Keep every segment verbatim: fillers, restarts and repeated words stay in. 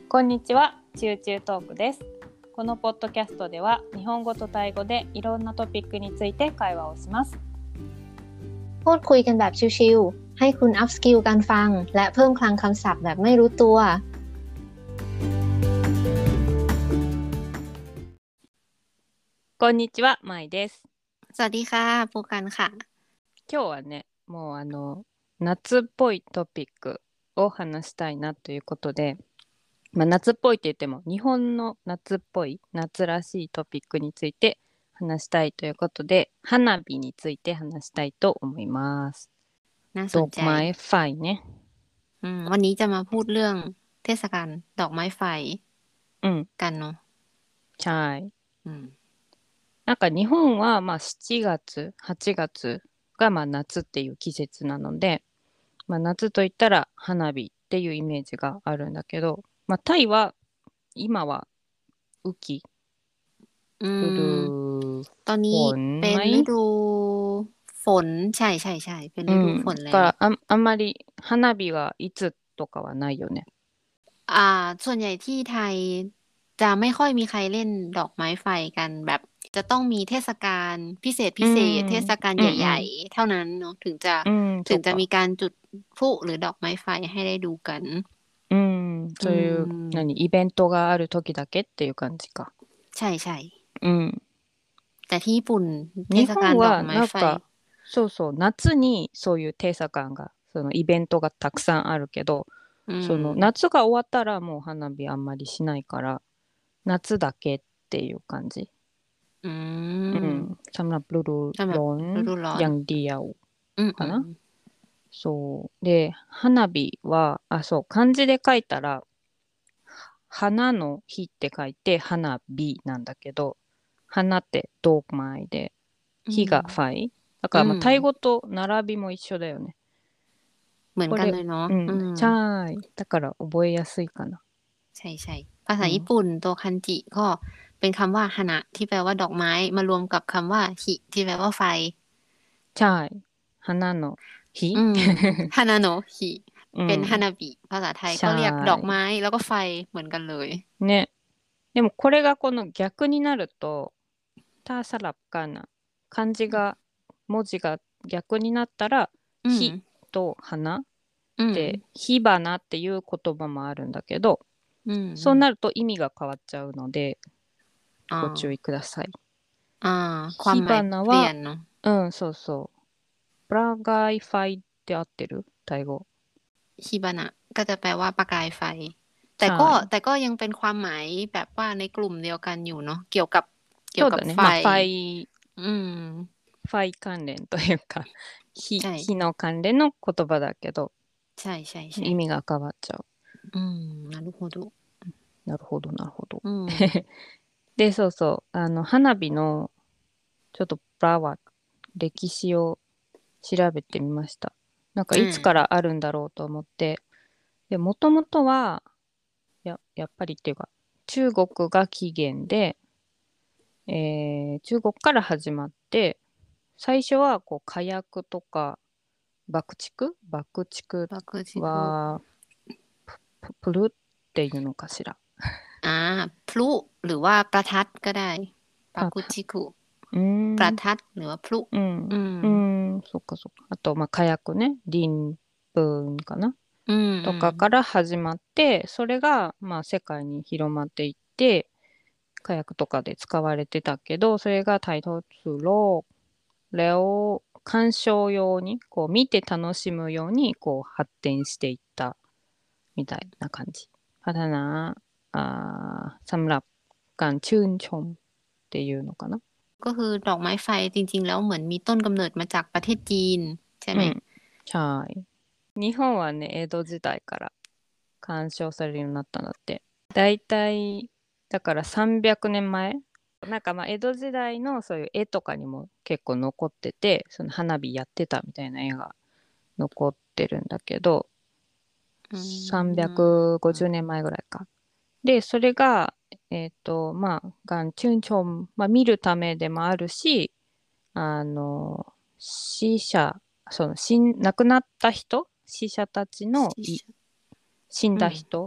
こんにちは、チューチュートークです。このポッドキャストでは日本語とタイ語でいろんなトピックについて会話をします。 พูดคุยกันแบบชิวๆให้คุณอัพสกิลการฟังและเพิ่มคลังคำศัพท์แบบไม่รู้ตัว。 こんにちは、まいです。 สวัสดีค่ะปูกันค่ะ。 今日はね、もうあの夏っぽいトピックを話したいなということで、まあ、夏っぽいって言っても日本の夏っぽい夏らしいトピックについて話したいということで、花火について話したいと思います。 น่าสนใจดอกไม้ไฟね。 อืมวันนี้จะมาพูดเรื่องเทศกาลดอกไม้ไฟกันเนาะใช่อืมなんか日本はまあしちがつ、はちがつがまあ夏っていう季節なので、まあ、夏といったら花火っていうイメージがあるんだけど、まあ、タイは今は雨季อืฤดูมตอนนี้เป็นฝนไหมฤดูฝนใช่ใช่ใช่เป็นฤดูฝนแล้วだからあ、あんまり花火はいつとかはないよね。 อ่าส่วนใหญ่ที่ไทยจะไม่ค่อยมีใครเล่นดอกไม้ไฟกันแบบจะต้องมีเทศกาลพิเศษพิเศษเทศกาลใหญ่ๆเท่านั้นเนาะถึงจะถึงจะมีการจุดพลุหรือดอกไม้ไฟให้ได้ดูกันうん、そういう何イベントがある時だけっていう感じか。 ใช่ใช่うん。 แต่ที่ญี่ปุ่นเท日ศกาล本ดอกはไม้ไฟなんかそうそう夏にそういうテーサ感がそのイベントがたくさんあるけど、その夏が終わったらもう花火あんまりしないから夏だけっていう感じ。 อืうん。สำหรับฤดูสำหรับร้อนฤดูร้อนอย่างเดียวอืมかな。 อืมそうで花火はあそう漢字で書いたら花の日って書いて花火なんだけど、花ってドーマイで火がファイだからまあタイ語と並びも一緒だよね。 เหมือนกันเลยเนาะうん、ใช่だから覚えやすいかな。 ใช่ใช่ภาษาญี่ปุ่นตัวคันจิก็เป็นคำว่าฮานะที่แปลว่าดอกไม้มารวมกับคำว่าฮิที่แปลว่าไฟใช่花の日อืมฮานาโนะฮิเป็นฮานาบิภาษาไทยก็เรียกดอกไม้แล้วก็ไฟเหมือนกันเลยね。でもこれがこの逆になるとターサラッカーナ漢字が文字が逆になったら火と花で火花っていう言葉もあるんだけど、そうなると意味が変わっちゃうのでご注意ください。火花はうんそうそうプラガイファイって合ってるタイ語ฮิบานะก็จะแปลว่าประกายไฟแต่ก็แต่ก็ยังเป็นความหมายแบบว่าในกลุ่มเดียวกันอยู่เนาะเกี่ยวกับเกี่ยวกับไฟไฟอืมไฟ関連というか火火の関連の言葉だけどใช่ใช่ใช่意味が変わっちゃう。 อืมなるほどなるほどなるほど。でそうそうあの花火のちょっとプラワ歴史を調べてみました。なんかいつからあるんだろうと思って、でもともとはややっぱりっていうか中国が起源で、えー、中国から始まって最初はこう火薬とか爆竹爆竹はププルっていうのかしら。 อ่าพลุหรือว่าประทัดก็ได้ปากุชิคุประทัดหรือว่าพลุうんうんそっかそっかあとまあ火薬ねリンプンかなとかから始まってそれがまあ世界に広まっていって火薬とかで使われてたけどそれがタイトツロレオ鑑賞用にこう見て楽しむようにこう発展していったみたいな感じ。พัฒนาอ่าสำหรับการชื่นชมっていうのかなก็คือดอกไม้ไฟจริงๆแล้วเหมือนมีต้นกำเนิดมาจากประเทศจีนใช่ไหมใช่日本はね江戸時代から鑑賞されるようになったんだって。だいたいだからさんびゃくねんまえなんかまあ江戸時代のそういう絵とかにも結構残っててその花火やってたみたいな絵が残ってるんだけどさんびゃくごじゅうねんまえぐらいか。でそれがえっとまあガンチュンチョン、まあ、見るためでもあるしあの死者その死亡くなった人死者たちの死んだ人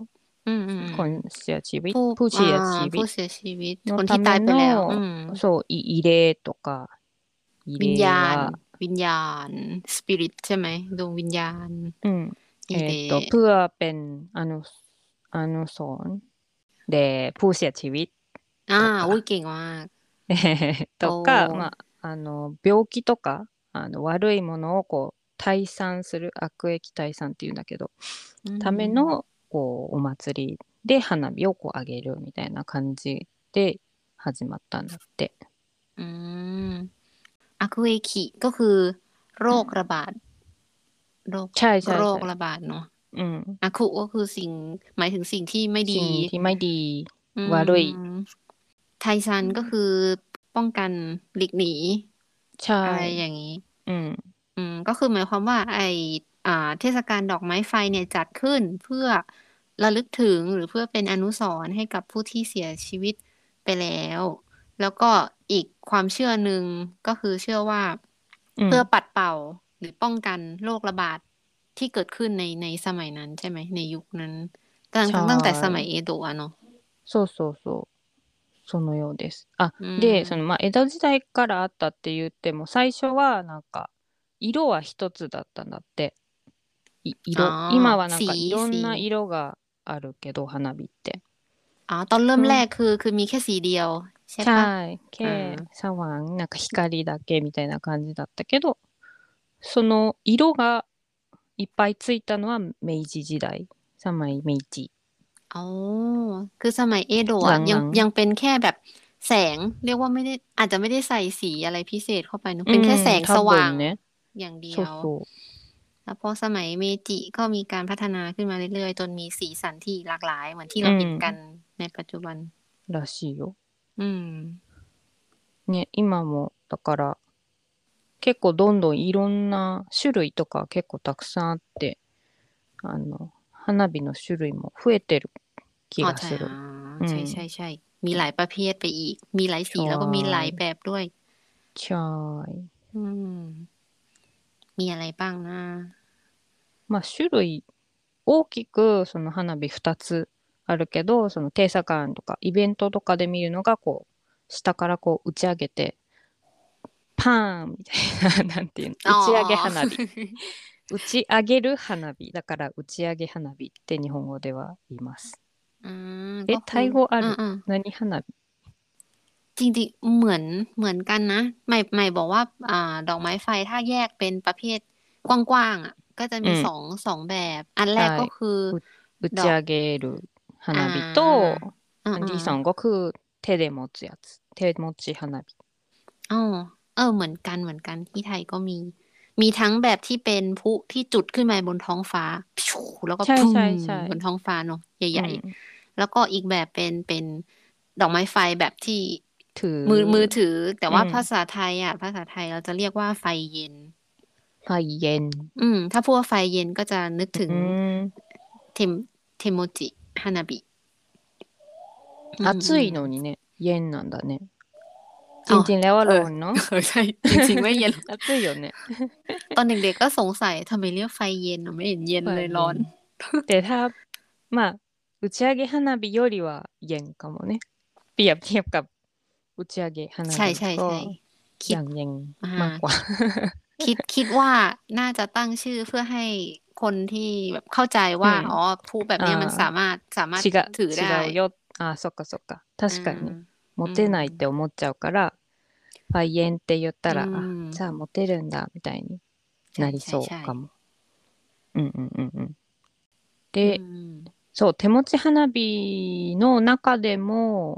คนเสียชีวิตผู้ผู้เสียอ่าชีวิผู้ตเสียชีวิตのคนたที่ตายめไปแล้ว อืのมそうい慰霊とか慰วิญ霊ญาณはวิญญาณ สปิริต ใช่ไหม ดวงวิญญาณอืมอีเอเรっとเพื่อเป็นอนุอนุสรณ์แด่ผู้เสียชีวิตอ่าとอุ๊ยかเก่งมากとか、 おー。 まあ、あの病気とかあの悪いものをこう退散する、悪役退散っていうんだけど、 うん、 ためのこうお祭りで花火をこう上げるみたいな感じで始まったんだって。 อืมอาคุเอคิก็คือโรคระบาด โรคใช่ใช่โรใช่คระบาดเนาะอืมอาคุก็คือสิ่ง หมายถึงสิ่งที่ไม่ดีสิ่งที่ไม่ดีอืมวารุยไทซันก็คือป้องกันหลีกหนีใช่อะไรอย่างนี้อืมอืม ก็คือหมายความว่า ไออ่า เทศกาลดอกไม้ไฟเนี่ยจัดขึ้นเพื่อระลึกถึงหรือเพื่อเป็นอนุสรณ์ให้กับผู้ที่เสียชีวิตไปแล้ว แล้วก็อีกความเชื่อหนึ่งก็คือเชื่อว่าอืมเพื่อปัดเป่าหรือป้องกันโรคระบาดที่เกิดขึ้นในในสมัยนั้นใช่ไหม ในยุคนั้น ตั้งใช่ตั้งแต่สมัยเอโดะอะเนาะそうそうそう。そのようです。あ、 うんで、そのまあ江戸時代からあったって言っても、最初はなんか色は一つだったんだって。いอ๋色、 อ今はなんかสีいろんสีな色があるけど、花火って。 อ๋อ ตอนเริ่อืมมแรกคือ คือมีแค่สีเดียว ใช่ใช่ปะแค่อ่าสว่างなんか光だけみたいな感じだったけど、その色がいっぱいついたのは明治時代、สมัยเมจิอ๋อ คือสมัยเอโดะหอะ ยังลังยังเป็นแค่แบบแสง เรียกว่าไม่ได้ อาจจะไม่ได้ใส่สีอะไรพิเศษเข้าไปเนอะๆ อืเป็นแค่มแสง多สว่าง分ね。 อย่างเดีそยวうそう。 แล้วพอสมัยเมจิก็มีการพัฒนาขึ้นมาเรื่อยๆ จนมีสีสันที่หลากหลาย เหมือนที่เราเห็นกันในปัจจุบันらしいよ。 อืมね、今もだから結構どんどんいろんな種類とか結構たくさんあって、あの花火の種類も増えてる気อ๋อがใช่する。 อ่าอืใช่มใช่ ใช่ มีหลายประเภทไปอีก มีหลายสีใช่แล้วก็มีหลายแบบด้วยใช่อืม มีอะไรบ้างนะまあ種類大きくその花火ふたつあるけど、そのテーサカンとかイベントとかで見るのがこう下からこう打ち上げてパーンみたいななんていうの、 อ๋อ打ち上げ花火打ち上げる花火だから打ち上げ花火って日本語では言います。 อืมえก็ไทคือย語あอืるม何花火ๆ จริงๆ เหมือน เหมือนกันนะ ใหม่ ใหม่บอกว่า อ่า ดอกไม้ไฟถ้าแยกเป็นประเภทกว้างๆ อ่ะ ก็จะมีอืมสอง สองแบบ อันแรกก็คือう打ดちอก上げるอ่า花火とอือันที่มสองก็คือ手で持つやつ手持ち花火ๆ อ๋อ เออ เหมือนกัน เหมือนกัน ที่ไทยก็มี มีทั้งแบบที่เป็นพลุที่จุดขึ้นมาบนท้องฟ้า แล้วก็ใช่พุ่ใช่ใช่บนท้องฟ้าเนาะ ใหอืญ่มๆ แล้วก็อีกแบบเป็น เป็นดอกไม้ไฟแบบที่ถือมือ มือถือ แต่ว่าอืมภาษาไทยอะ ภาษาไทยเราจะเรียกว่าไฟเย็นไฟเย็นอืม ถ้าพูดว่าไฟเย็นก็จะนึกถึงอืมเทม เทโมจิฮานาบิ อืม暑いのにねเย็นなんだね จอ๋อริง ๆ แล้วว่าเอร้ออนเนาะเออ ใช่ จริง ๆ ไม่เย็น暑いよねตอนเด็ก ๆ ก็สงสัยทำไมเรียกไฟเย็นอะไม่เห็นเย็นไฟเลยเย็นร้อนแต่ถ้า まあ打ち上げ花火よりはเย็นかもね เปรียบเทียบกับ打ち上げ花ใช่火ก็ๆ ๆ คิอดย่างเย็นอ่ามากกว่าคิด คิดว่าน่าจะตั้งชื่อเพื่อให้คนที่แบบเข้าใจว่าอืมอ๋อ พลุแบบเนี้ยมันあสามารถ สามารถー違う、 ถือได้違うよ。あ、そっかそっか。確かにね。 うん持てないって思っちゃうから、ファイエンって言ったら、 うあ、 んじゃあ持てるんだ、みたいになりそうかも。うんうんうんうん。で、 うん。 そう、手持ち花火の中でも、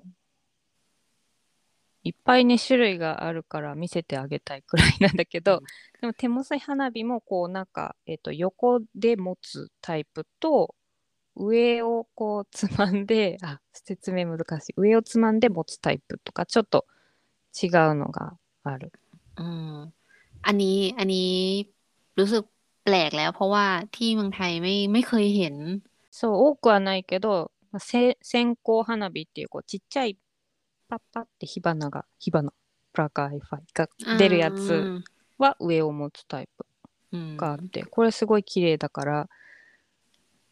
いっぱいね、種類があるから見せてあげたいくらいなんだけど、でも手持ち花火もこうなんか、えっと、横で持つタイプと、上をこうつまんで、あ、説明難しい。上をつまんで持つタイプとか、ちょっと違うのがある。 อืม อันนี้ อันนี้รู้สึกแปลกแล้ว เพราะว่าที่เมืองไทยไม่ ไม่เคยเห็นそう、多くはないけど、まあせ線香花火っていうこうちっちゃいパッパって火花が、火花、プラカーファイが出るやつは上を持つタイプうんがあって、これすごい綺麗だから、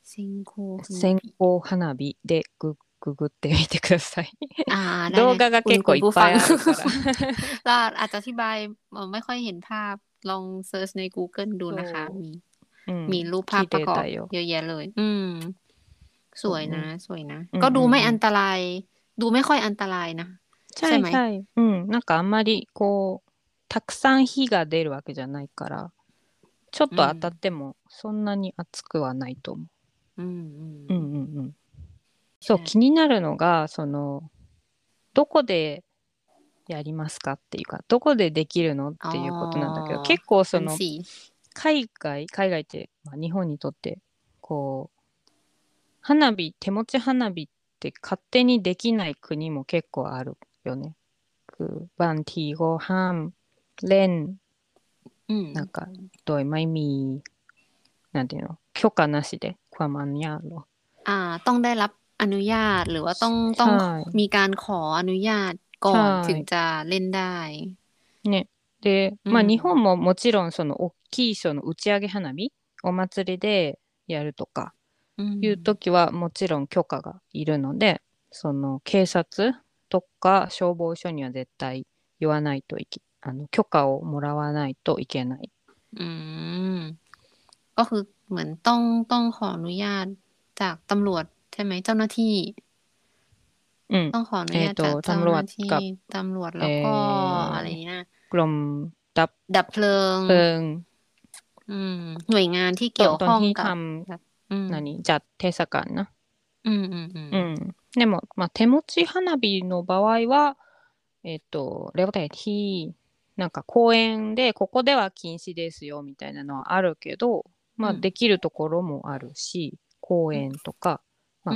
線香花線火香花火でグググってみてくださいอ่าได้動ได้画がคุณ結คุ構ณいっผู้ぱฟัいงあるからเราอาจจะอธิบายเอ่อไม่ค่อยเห็นภาพลองเซิร์ชใน Google ดูนะคะそうมีうมีんรูปภาพ綺ประกอบ麗だよเยอะแยะเลย อืม สそวうยนะねสวยนะうんก็うดูんไม่うอัんนตราย ดูไม่ค่อยอันตรายนะใชใช่ไหม่ ๆ うん。なんかあんまりこうたくさん火が出るわけじゃないからちょっうと当たっんてもそんなに熱くはないと思うんうう。 んうんうんうん。そう、 ใช่気になるのが、その、どこでやりますかっていうか、どこでできるのっอ๋อていうことなんだけど、結構その、 นั่นสิ海外、海外って、まあ、日本にとって、こう、花火、手持ち花火って勝手にできない国も結構あるよね。คือบางทีก็ห้ามเล่นอืมなんかโดยไม่มี なんていうの許可なしでความอนุญาตเหรออ่า ต้องได้รับอนุญาตหรือว่าต้องใช่ต้องมีการขออนุญาตก่อนใช่ถึงจะเล่นได้ね。で、 うんまあ日本ももちろんその大きいその打ち上げ花火、お祭りでやるとかういうん時はもちろん許可がいるので、その警察とか消防署には絶対言わないといけ、あの許可をもらわないといけない。 อืม ก็คือเหมือนต้องต้องขออนุญาตจากตำรวจใช่ไหมเจ้าหน้าที่うん。 ต้องขออนุญาตえっจากとเจ้าตำหรวน้าจที่กับตำรวจเอ่แล้วก็ออะไรนี่นะกรมดับดับเพลิงเพลิงอืม หน่วยงานที่ตเกี่ยวตอนข้องที่กับทแบบอืมำ何จัดเทศกาลนะอืมอืมอืมうん。でも、まあ、手持ち花火の場合は、えっと、レオタイที่なんか公園でここでは禁止ですよみたいなのはあるけど、まあ、 うんできるところもあるし、公園とか、まあ、 うん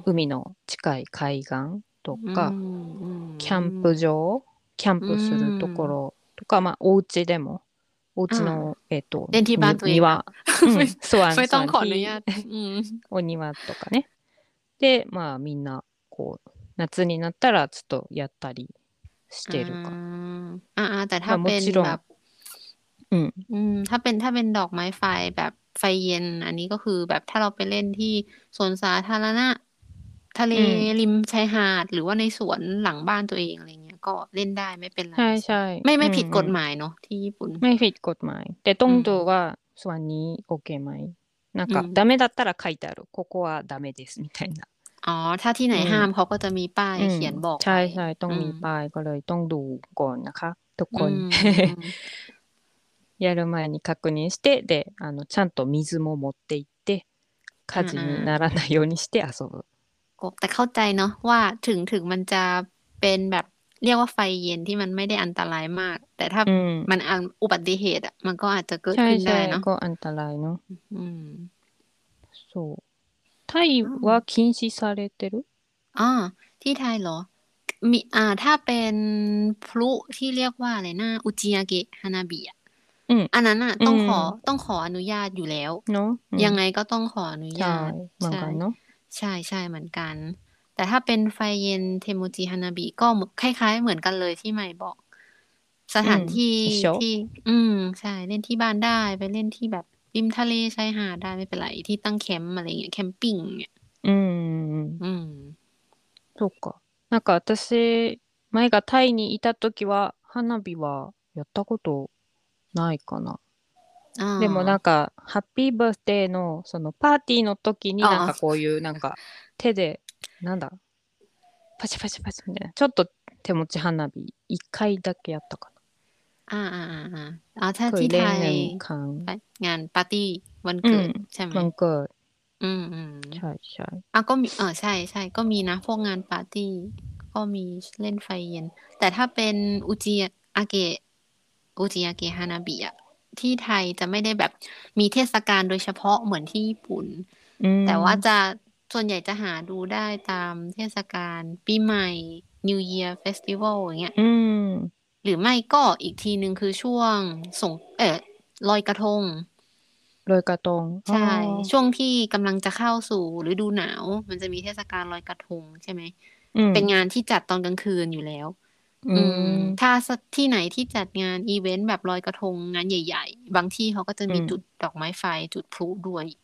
海の近い海岸とうか、 んキャンプ場、キャンプするところとか、まあ、お家でも、お家の、えっと、 เล่นที่บ้านตัวเองนะ庭、うん、สวนไม่สต้อวงนขออนุที่ญาต อืมお庭とかね。で、まあみんな、こう、夏になったらちょっとやったりしてるか。 อ่าอ่าแต่まถ้าあもเป็นちろแบん、 บうん、 อืม ถ้าเป็นถ้าเป็นดอกไม้ไฟแบบไฟเย็น อันนี้ก็คือแบบถ้าเราไปเล่นที่สวนสาธารณะ ทะเลうん、 ริมชายหาด หรือว่าในสวนหลังบ้านตัวเองอะไรเงี้ย ก็เล่นได้ไม่เป็นไรใช่ใช่ไม่ไม่อืผิดกฎอืหมายเนาะที่ญี่ปุ่นไม่ผิดกฎหมาย แต่ต้องอืมดูว่าส่วนนี้โอเคไหมなんか、 うんダメだったら書いてある。ここはダメですみたいな。 อ๋อ ถ้าที่ไหนอืมห้ามเขาก็จะมีป้ายอืมเขียนบอกใช่ไว้ใช่ต้องอืมีมป้ายก็เลยต้องดูก่อนนะคะ ทุกอืคนมやる前に確認して、で、あの、ちゃんと水も持って行って、火事にならないようにして遊ぶ。 ก็แต่เข้าใจเนาะว่าถึงถึงมันจะเป็นแบบเรียกว่าไฟเย็นที่มันไม่ได้อันตรายมาก แต่ถ้าอืมมันอันอุบัติเหตุอ่ะ มันก็อาจจะเกิดใช่ขึ้นได้ใช่เนาะก็อันตรายเนาะอืมそう。タイは禁止されてるอ๋อ ที่ไทยเหรอ มีอ่า ถ้าเป็นพลุที่เรียกว่าอะไรนะอุจิยาเกะฮานาบิอ่ะอืมอันนั้นอ่ะอืมต้องขอต้องขออนุญาตอยู่แล้วเนาะอืมยังไงก็ต้องขออนุใช่ญาตเหมือนกันเนาะใช่ใช่เหมือนกัน แต่ถ้าเป็นไฟเย็นเทโมจิฮานาบิก็คล้ายๆเหมือนกันเลยที่ใหม่บอก สถานที่อืม一緒ที่ อืม ใช่ เล่นที่บ้านได้ ไปเล่นที่แบบริมทะเลชายหาดได้ไม่เป็นไร ที่ตั้งแคมป์อะไรเงี้ย แคมปิ้งเนี่ยอืมอืมそっか。なんか私、前がタイにいた時は、花火はやったことないかな。 あでもなんあ。 か、ハッピーバースデーの、そのパーティーの時にああなんかこういう、なんか、手で、なんだ、パチパチパチみたいな。ちょっと手持ち花火、一回だけやったかอ่าอ่าอ่าอ่าอ๋อถ้าな。เคที่ยไทเล่นยหนึ่งครั้งงานปาร์ตี้วันอืเกิมดใช่ไหมวันเกิดอืมอืมใช่ใช่อ่ะก็มีเออใช่ใช่ก็มีนะพวกงานปาร์ตี้ก็มีเล่นไฟเย็น แต่ถ้าเป็นอุจิอาเกะอุจิอาเกะฮานาบิอะที่ไทยจะไม่ได้แบบมีเทศกาลโดยเฉพาะเหมือนที่ญี่ปุ่นอืมแต่ว่าจะส่วนใหญ่จะหาดูได้ตามเทศกาลปีใหม่ New Year Festival อย่างเงี้ยอืมหรือไม่ก็อีกทีนึงคือช่วงสงเออลอยกระทงลอยกระทงใช่อ๋อช่วงที่กำลังจะเข้าสู่ฤดูหนาว มันจะมีเทศกาลลอยกระทงใช่ไหมอืมเป็นงานที่จัดตอนกลางคืนอยู่แล้วอือืมมถ้าที่ไหนที่จัดงานอีเวนต์แบบลอยกระทงงานใหญ่ ๆ บางที่เขาก็จะมีอืมจุดดอกไม้ไฟจุดพลุด้วย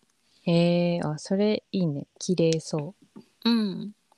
へえ、あ、それいいね。綺麗そう。 อืม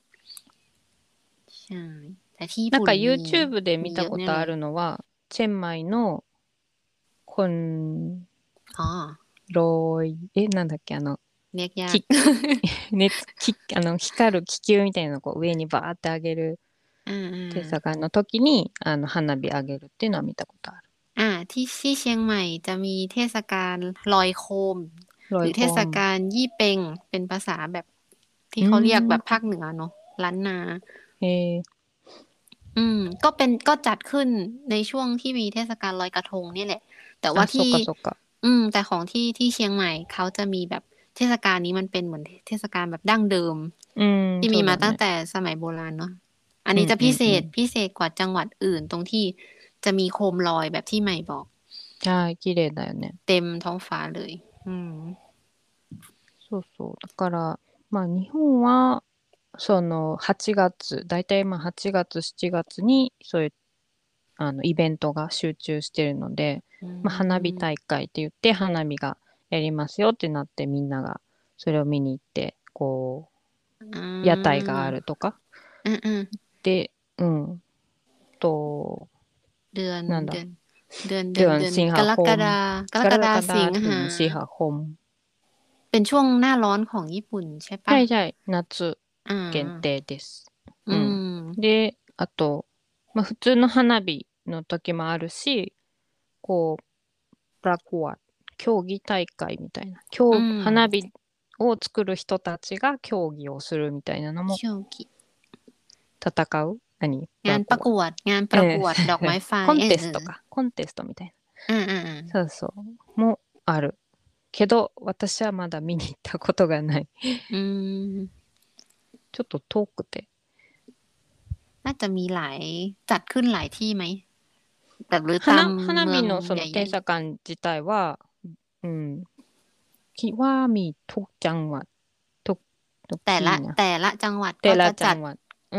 ใช่แต่ที่ญี่なんかปุ่นมี YouTube でมี見たことあเยอะแน่เลยるのは、チェンマイのコンอ๋อロイ、え、なんだっけ、あの、 เรียกยากき、熱、き、あの、光る気球みたいなのをこう上にバーって上げるอ่าอ่テาサカの時に、あの、花火上げるっていうのは見たことある。 อ่าที่ที่เชียงใหม่จะมีเทศกาลลอยโคมหロイรือเทศコン。 กาลยี่เป็งเป็นภาษาแบบที่うเขาเรียกแบーん。 บภาคเหนือเนาะล้านนาへえ。 อืมก็เป็นก็จัดขึ้นในช่วงที่มีเทศกาลลอยกระทงนี่แหละแต่ว่าあ、そっที่かそっか。 อืมแต่ของที่ที่เชียงใหม่เขาจะมีแบบเทศกาลนี้มันเป็นเหมือนเทศกาลแบบดั้งเดิมうーん、 ที่มีそうだね。 มาตั้งแต่สมัยโบราณเนาะอันうんうนี้จะพิเศんうん。 ษพิเศษกว่าจังหวัดอื่นตรงที่จะมีโคมลอยแบบที่ใหม่บอกはい、綺麗だよね。 เต็มท้องฟ้าเลยอืมそうそう。だから、まあ日本は、そのはちがつ、だいたいまあはちがつ、しちがつにそういうあのイベントが集中してるので、 อืまあ、花火ม大会って言って花火がやりますよってなってみんながそれを見に行って、こอ่う、屋台がาあるとか。 อืมอืมで、うん、と、 เดือนなんだ、 เดือนเดือนเดือนเดือนเดือนสิงกรกหาคมฎากรกรกฎากฎาสิงหาถึงสิงหาคมเป็นช่วงหน้าร้อนของญี่ปุ่นใช่ปะใช่ใช่夏อ่限า定です。 อืうん。 มで、あと、まあ、普通の花火の時もあるし、こう、プラコア、競技大会みたいな、 อื競技、花ม火を作る人たちが競技をするみたいなのもโชกิ戦う何プงานラコア。 ประกวดงานประええกวดดอกไม้ไฟコンเออเออテストか。コンテストみたいอ่าอ่าอ่าな。そうそう。もある。けど、私はまだ見に行ったことがない。 อืมちょっと遠くて。 น่าจะมีหลายจัดขึ้นหลายที่ไหมแบบหรือตาม花、花เมือง火のそใのหญ่テサカン自体は、うん、きはมีทุกจังหวัดทุกทุกๆแต่ละที่นะแต่ละจังหวัดแต่ละก็จะจัดจังหวัดうん。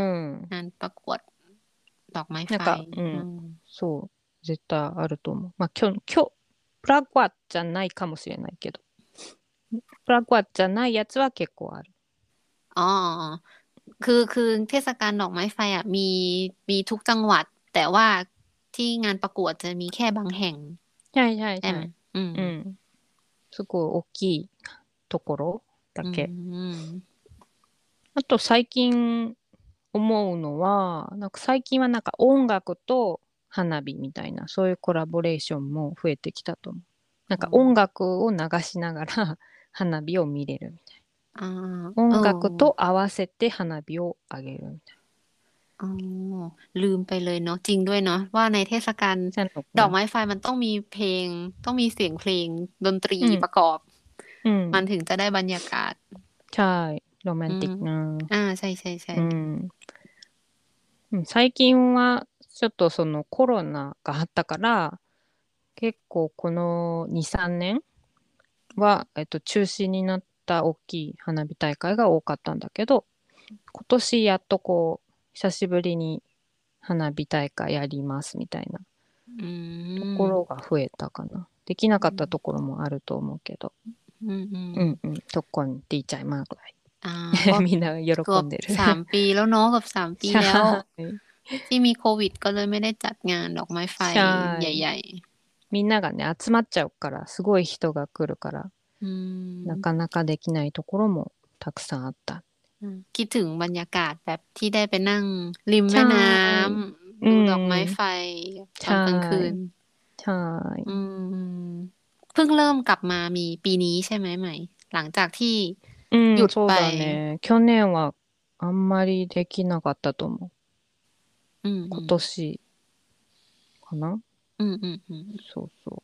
งานประกวดดอกไม้ไฟなんか、うอืん、 มそう、絶対あると思う。まあ、今日、今日、プラグワじゃないかもしれないけど、プラグワじゃないやつは結構ある。 อ๋อคือคือเทศกาลดอกไม้ไฟอ่ะมีมีทุกจังหวัดแต่ว่าที่งานประกวดจะมีแค่บางแห่งはいはいใช่ไหมはい。 อืมうん。すごい大きいところだอืけ。 มあと最近思うのは、なんか最近はなんか音楽と花火みたいな、そういうコラボレーションも増えてきたと思う。なんか音อ๋อ楽を流しながら花火を見れるみたいอ่าな。 เออ音楽と合わせて花火を上げるみたいอ๋อลืมไปเลยเนาะจริงด้วยเนาะว่าในเทศกาลな。สนุกนะดอกไม้ไฟมันต้องมีเพลงต้องมีเสียงเพลงดนตรีอืมประกอบอืมมันถึงจะได้บรรยากาศใช่โรแมอืมนติกนะอ่าใช่ใช่ใช่うん。うん最近はちょっとそのコロナがあったから、結構このに、さんねんは、えっと、中止になった大きい花火大会が多かったんだけど、今年やっとこう、久しぶりに花火大会やりますみたいなอืところมが増えたかな。できなかったところもあると思うけど。 อืมอืมうんうん。ทุกคนดีใจมากเลยอ่าก็みんなเกือบ喜んでるสามปีแล้วเนาะเกือบสามปีใช่แล้วที่มีโควิดก็เลยไม่ได้จัดงานดอกไม้ไฟใช่ใหญ่みんながね、集まっちゃうから、すごい人が来るから、 ๆอืなมかなかできないところもたくさんあった。 อืมคิดถึงบรรยากาศแบบที่ได้ไปนั่งริมใชแม่น้่ อืำดูดอกไม้ไฟมตใชอนกลางคืน่ใช่。 อืมเพิ่งเริ่มกลับมามีปีนี้ใช่ไหมไหมหลังจากที่うん、 หยุดไปそうだね。去年はあんまりできなかったと思う。 อืมอื今ม年かな。 อืมอืมอืมそうそう。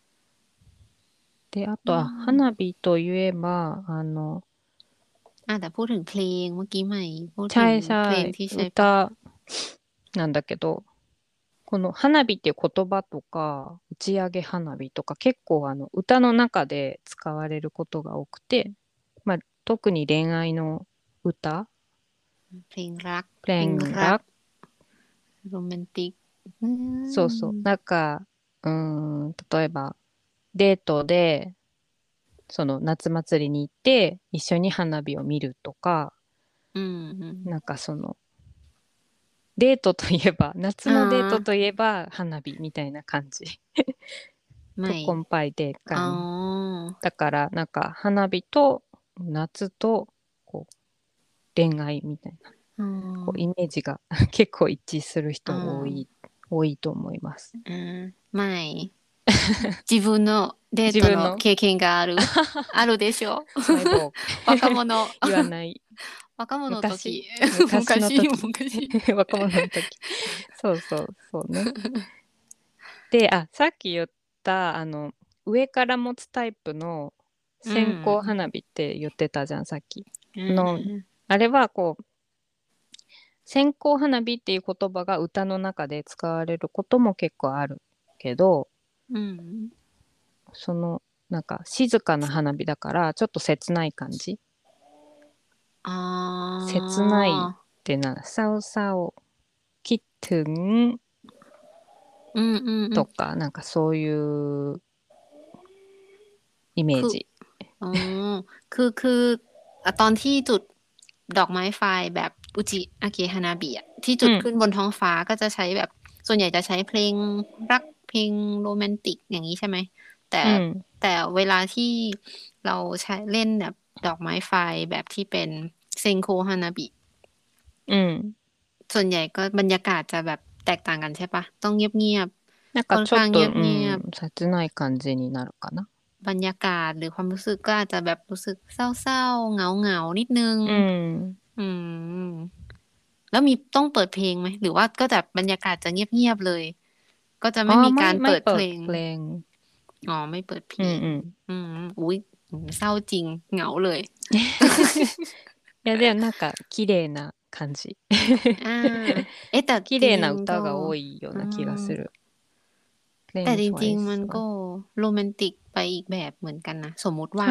で、あอืとはม花火といえば、あの、 อ่ะแต่พูดถึงเพลงเมื่อกี้ใหม่พูดถึงチャイシเพลャイงที่ใช้ประกว歌ดなんだけど、この花火っていう言葉とか、打ち上げ花火とか結構あの歌の中で使われることが多くて、まあ、特に恋愛の歌、 เพลงรักเพลงเพลงรักรักโรแมนติกอืそうそう。 มなんか、うーん、例えば、デートで、 その夏祭りに行って一緒に花火を見るとか、 うん、 なんかそのデートといえば夏のデートあといえば花火みたいな感じไม่ทุกคนไปเดทอ๋อกันだからなんか花火と夏とこう恋愛みたいなอ๋こうイอメージが結構一致するอ๋人多いอ多いと思います。 あーไม่自分のデート自分のの経験があるあるでしょマイボーグ若者言わない若者の昔時昔の昔時昔若者の時そうそうそうね。で、あ、さっき言った、あの、上から持つタイプのう線香ん花火って言ってたじゃん、さっき。 うんあの、 うんあれはこう、線香花火っていう言葉が歌の中で使われることも結構あるけど、 うんその、なんか静かな花火だから、ちょっと切ない感じ。 อ๋切ないอってな、サウサウ、キットゥンอืมอืมอืมとか、なんかそういうイメคือージ。 อ๋อคือคืออ่ะตอนที่จุดดอกไม้ไฟแบบอุจิอากิฮานาบิอ่ะที่จุดขึ้นうん、 บนท้องฟ้าก็จะใช้แบบส่วนใหญ่จะใช้เพลงรักเพลงโรแมนติกอย่างนี้ใช่ไหมแต่うん、 แต่เวลาที่เราใช้เล่นแบบดอกไม้ไฟแบบที่เป็นเซนโคฮานาบิうん。 ส่วนใหญ่ก็บรรยากาศจะแบบแตกต่างกันใช่ปะต้องเงียบなんๆค่อนข้างเかちょっと、うงียบん、切ない感じになるかな。 บรรยากาศหรือความรู้สึกก็อาจจะแบบรู้สึกเศร้าๆเหงาๆนิดนึงうん。 อืมแล้วมีต้องเปิดเพลงไหมหรือว่าก็จะบรรยากาศจะเงียบๆเลยก็จะไม่ああ、 มีการไม่ไม่เปิดเพลงเปิดเพลงอ๋อไม่เปิดเพลงうんうん。 อืมอุ๊ยเศร้าจริงเหงาเลยいや、でもなんか綺麗な感じ。 อ่าเอ๊ะแต่綺จริงๆก็麗な歌が多いようอืな気がมする。 แต่จ Plain ริงๆมัน Twice ก็は。 โรแมนติกไปอีกแบบเหมือนกันนะสมมุติว่าใช่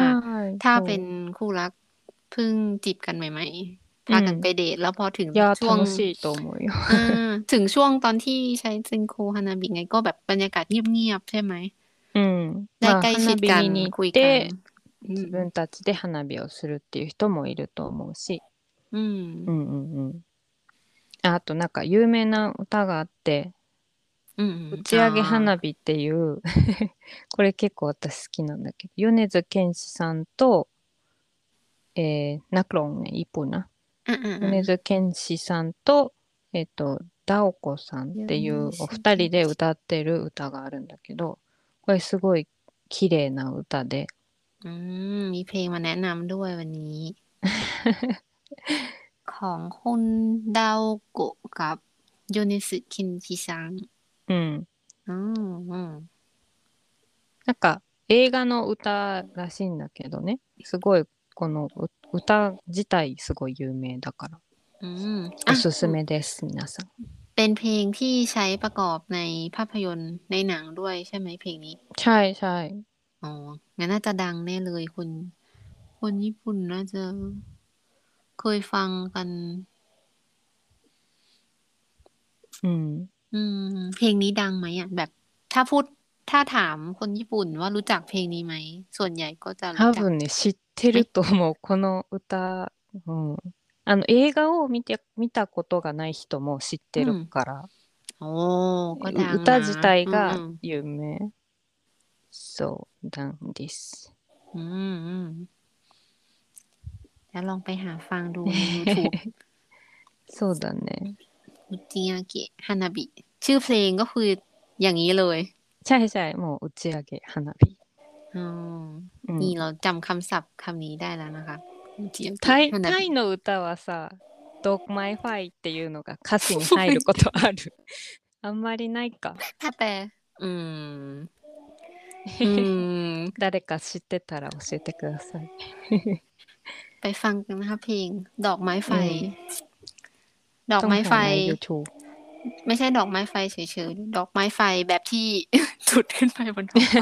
ถ้าเป็นそคู่รักเพิ่งจีบกันใหม่ๆう。うพากันไปん。 เดทแล้วพอถึงいや、 ช่วง楽しいと思うよ。 อ่าถึงช่วงตอนที่ใช้เซนโคฮานาบิไงก็แบบบรรยากาศเงียบๆใช่ไหมうん。まあ、 ได้ใกล้ชิ花ดกัน火見に行っคุยกันて、 อืม自分たちで花火をするっていう人もいると思うし。 อืมうんうんうん。ああとなんか有名な歌があって、 อืม打อ๋อち上げ花火っていうこれ結構私好きなんだけど、米津玄師さんと、えー、ナクロンね、一本な。 อ่าอ่าอ่า米津玄師さんと、えっと、ダオコさんっยูていネうおスケ二人で歌ってる歌があるんだけど、これすごい綺麗な歌で、 อืมมีเพลงมาแนะนำด้วยวันนี้ของคุณดาวโกะกับโยเนสึคินจิซังうん。 อืมอืมなんか映画の歌らしいんだけどね、すごいこのう歌自体すごい有名だから、 อืมおอ่ะすすめです、皆さん。 เป็นเพลงที่ใช้ประกอบในภาพยนตร์ในหนังด้วยใช่ไหมเพลงนี้ใช่ใช่อ๋องั้นน่าจะดังแน่เลยคนคนญี่ปุ่นน่าจะเคยฟังกันうん。 อืมเพลงนี้ดังไหมอ่ะแบบถ้าพูดถ้าถามคนญี่ปุ่นว่ารู้จักเพลงนี้ไหมส่วนใหญ่ก็จะรู้จัก多分ね、知ってไหมると思う。この歌、うん。あの、映画を見て、見たことがない人も知ってるอืมから、 โอ้ก็ดัうงนะ歌自体อืมอืがม有名。そうなんです。 อืมอืมแล้วลองไปหาฟังดูใน YouTube そうだね。 อุจิยาเกะฮานาบิชื่อเพลงก็คืออย่างนี้เลยใช่ใช่もう打ち上げ花火。 อ๋อうん。 นี่เราจำคำศัพท์คำนี้ได้แล้วนะคะอุจิยาเกะタイ、 ฮานาบิタイの歌はさ、ドッグマイファイっていうのが歌詞に入ることある。あんまりないか。 ถ้าแปลอืม อืม誰か知ってたら教えてください。 ไปฟังกันนะคะเพลงดอกไม้ไฟうん。 ดอกไม้ไฟต้องหาใน YouTube ไม่ใช่ดอกไม้ไฟเฉยๆดอกไม้ไฟแบบที่ จุดขึ้นไปบนท้องฟ้า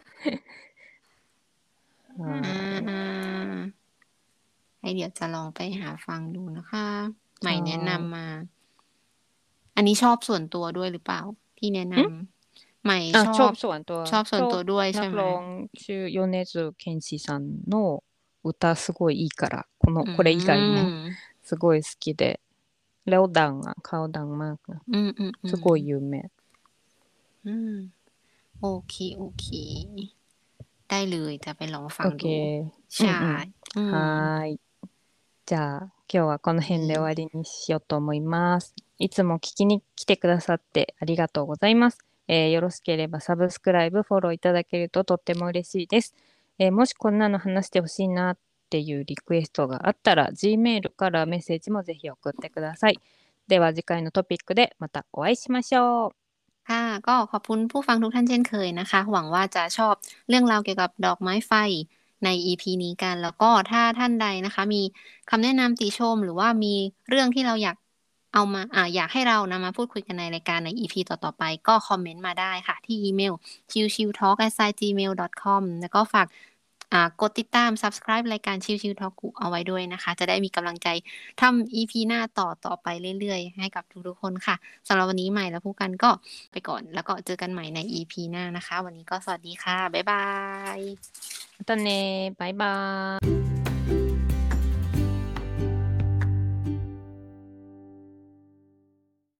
อ่はい。 าให้เดี๋ยวจะลองไปหาฟังดูนะคะใหม่แนะはนำมา อันนี้ชอบส่วนตัวด้วยหรือเปล่าที่แนะนい。んำใหใหม่あ、 ชชออบบส่วนตัวชอบส่วนชอบตัวด้วยนัใช่ไหมกร้องชื่อ米津玄師さんの歌すごいいいからこのอืこれ以外もมすごい好きでแล้วดังอ่ะเขาดังมากนะอืมอืมอืすมごい有名อืมโอเคโอเคได้เลยจะไปลองฟัโอเคงดูうんうใช่んอืはมーいじゃあ今日はこの辺で終わりにしようと思います。いつも聞きに来てくださってありがとうございます。えーよろしければサブスクライブ、フォローいただけるととっても嬉しいです。えーもしこんなの話してほしいなっていうリクエストがあったら Gmail からメッセージもぜひ送ってください。では次回のトピックでまたお会いしましょう。 ค่ะก็ขอบคุณผู้ฟังทุกท่านเช่นเคยนะคะหวังว่าจะชอบเรื่องราวเกี่ยวกับดอกไม้ไฟใน อี พี นี้กันแล้วก็ถ้าท่านใดนะคะมีคำแนะนำติชมหรือว่ามีเรื่องที่เราอยากเอามาอ่าอยากให้เรานำมาพูดคุยกันในรายการใน อี พี ต่อๆไปก็คอมเมนต์มาได้ค่ะที่อีเมล ชิลชิลทอล์ก แอท จีเมล ดอท คอม แล้วก็ฝากอ่ากดติดตาม Subscribe รายการชิลชิลทอล์กเอาไว้ด้วยนะคะจะได้มีกำลังใจทำ อี พี หน้าต่อต่อไปเรื่อยๆให้กับทุกๆคนค่ะสำหรับวันนี้ใหม่และผู้กันก็ไปก่อนแล้วก็เจอกันใหม่ใน อี พี หน้านะคะวันนี้ก็สวัสดีค่ะบ๊ายบายまたねバイバーイ。